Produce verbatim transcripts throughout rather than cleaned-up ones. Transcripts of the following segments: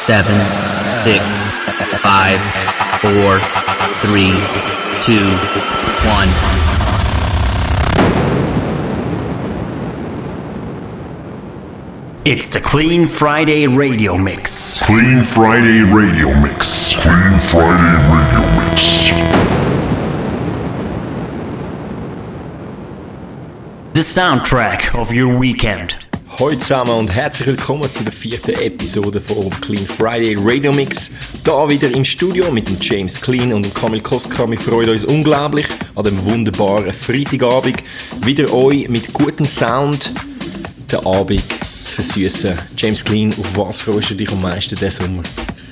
seven, six, five, four, three, two, one. It's the Clean Friday Radio Mix. Clean Friday Radio Mix. Clean Friday Radio Mix. The soundtrack of your weekend. Hallo zusammen und herzlich willkommen zu der vierten Episode vom Clean Friday Radio Mix. Da wieder im Studio mit dem James Clean und dem Kamil Koska. Wir freuen uns unglaublich an dem wunderbaren Freitagabend. Wieder euch mit gutem Sound den Abend zu versüßen. James Clean, auf was freust du dich am meisten diesen Sommer?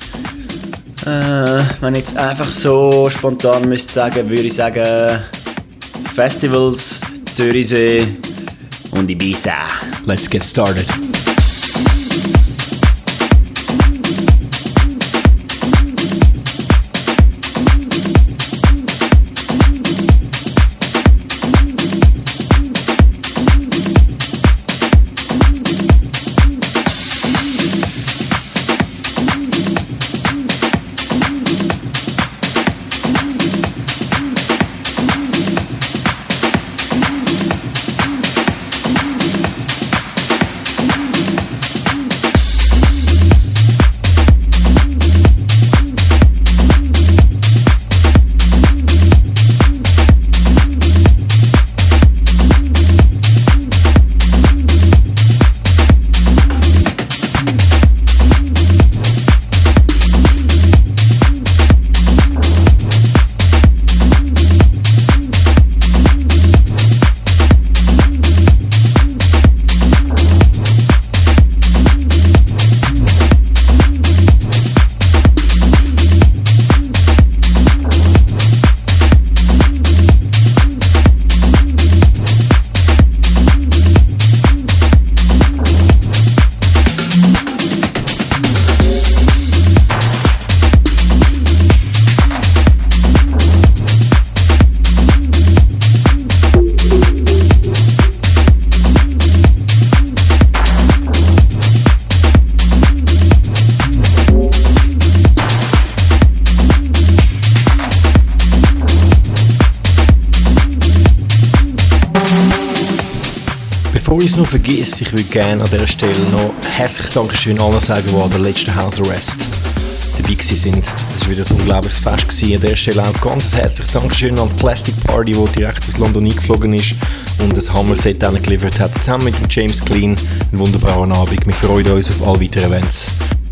Äh, wenn ich jetzt einfach so spontan müsste sagen, würde ich sagen Festivals, Zürichsee und Ibiza. Let's get started. Bevor ich es noch vergesse, ich würde gerne an dieser Stelle noch herzliches Dankeschön allen sagen, die an der letzten House Arrest dabei waren. Das war wieder ein unglaubliches Fest gewesen. An dieser Stelle auch ganz herzliches Dankeschön an die Plastic Party, die direkt aus London eingeflogen ist und ein Hammer-Set geliefert hat. Zusammen mit dem James Clean. Einen wunderbaren Abend. Wir freuen uns auf alle weiteren Events.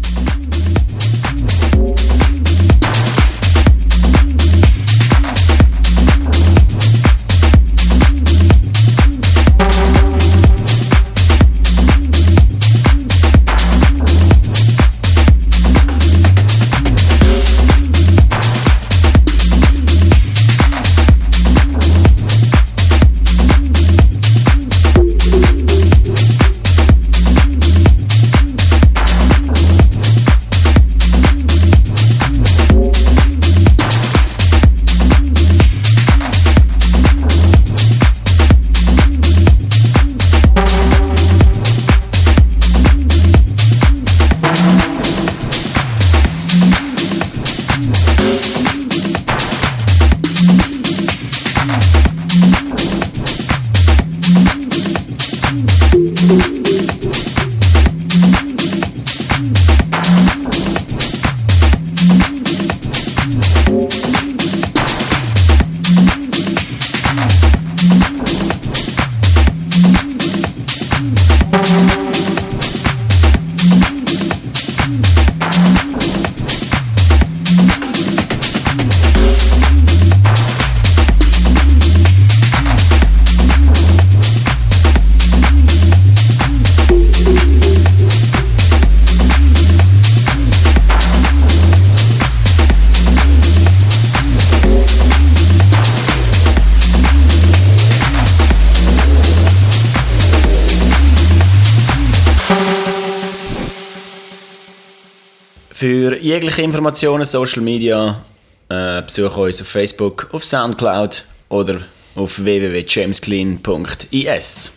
Für jegliche Informationen, Social Media, äh, besuche uns auf Facebook, auf Soundcloud oder auf w w w punkt jamesclean punkt i s.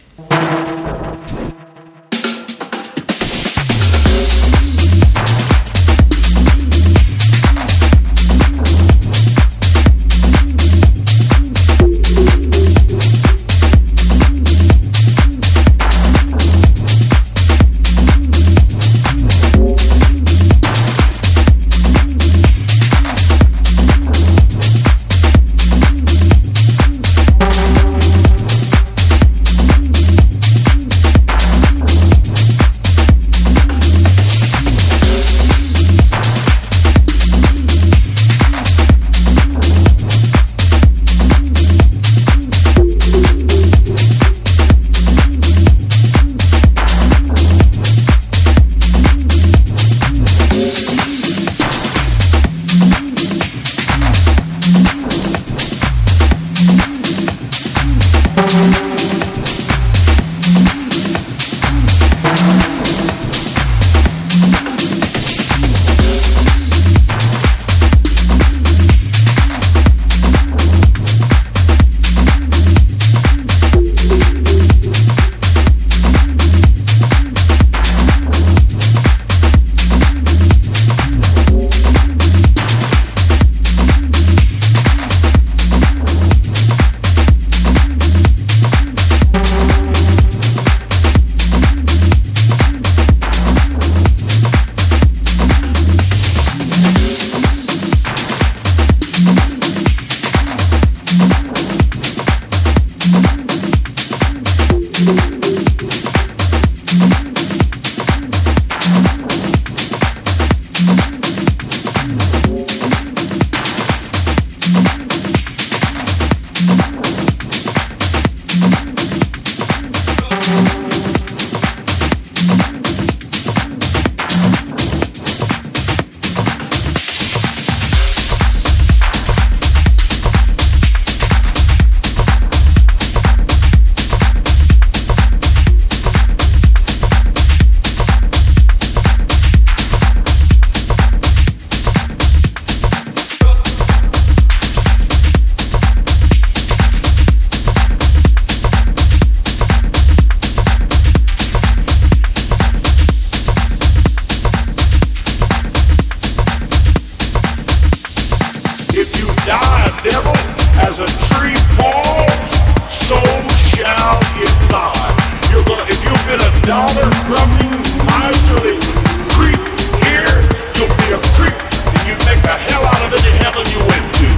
die, devil. As a tree falls, so shall it lie. You're gonna, if you've been a dollar-grubbing, miserly creep here, you'll be a creep, and you make the hell out of any heaven you went to.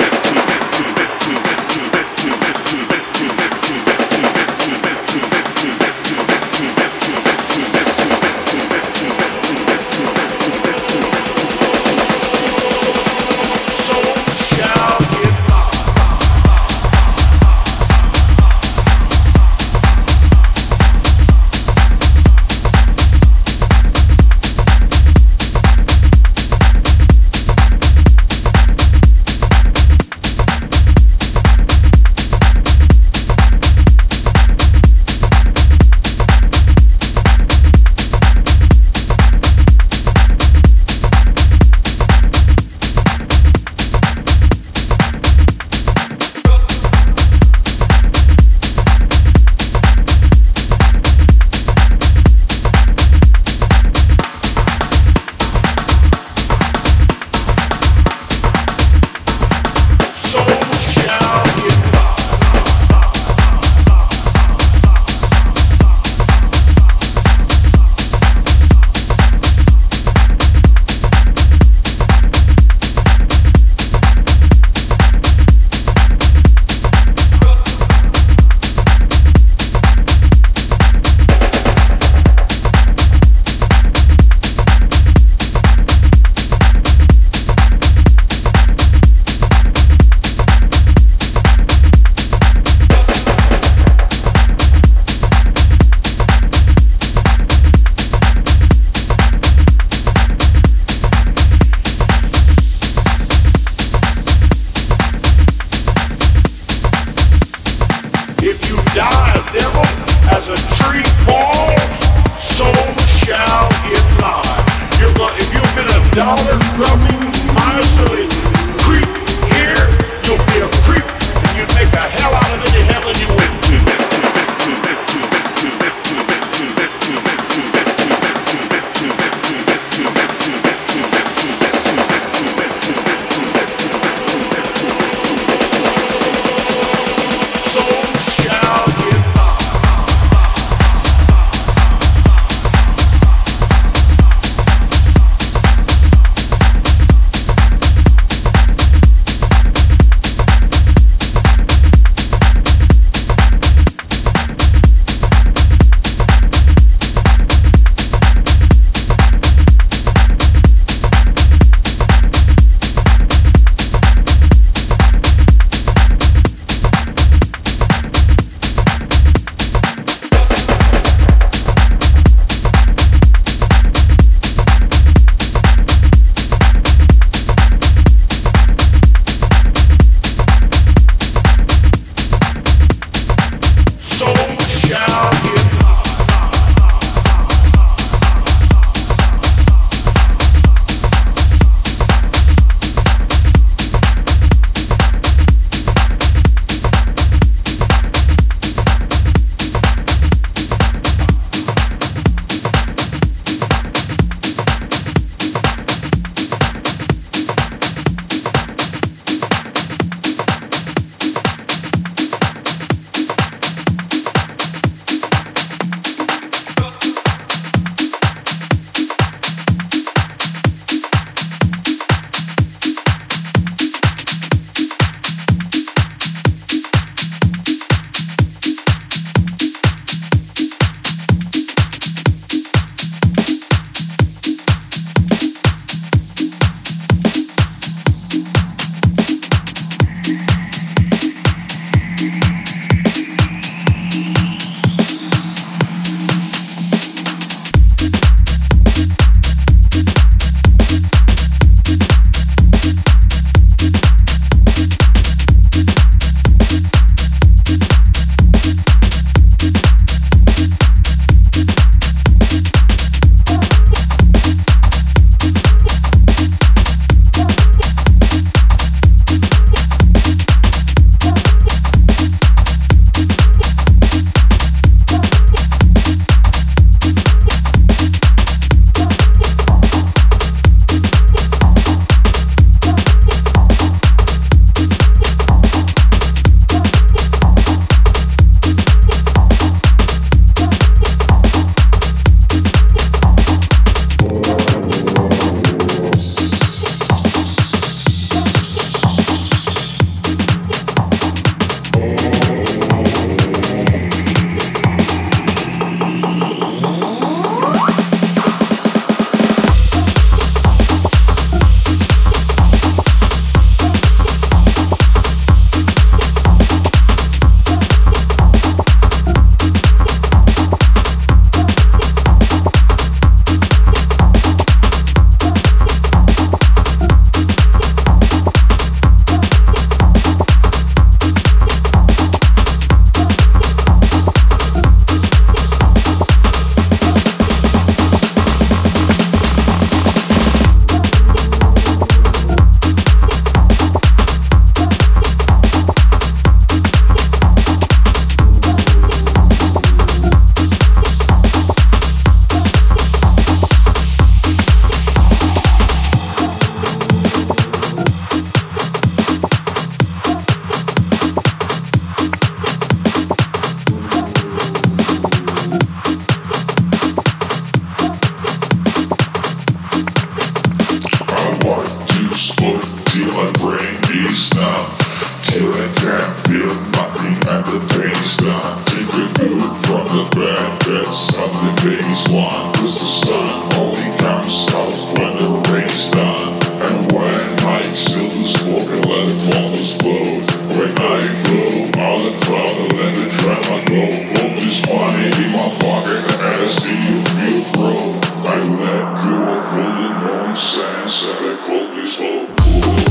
my brain is numb. Till I can't feel nothing and the pain's done. Take the good from the bad, that's something phase one. Cause the sun only comes out when the rain's done. And when I silver's walking, let it fall explode. When I blow all the cloud, I let the drama go. All this money in my pocket and I see you feel broke. I let go of all the nonsense and I close this whole pool.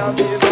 shall be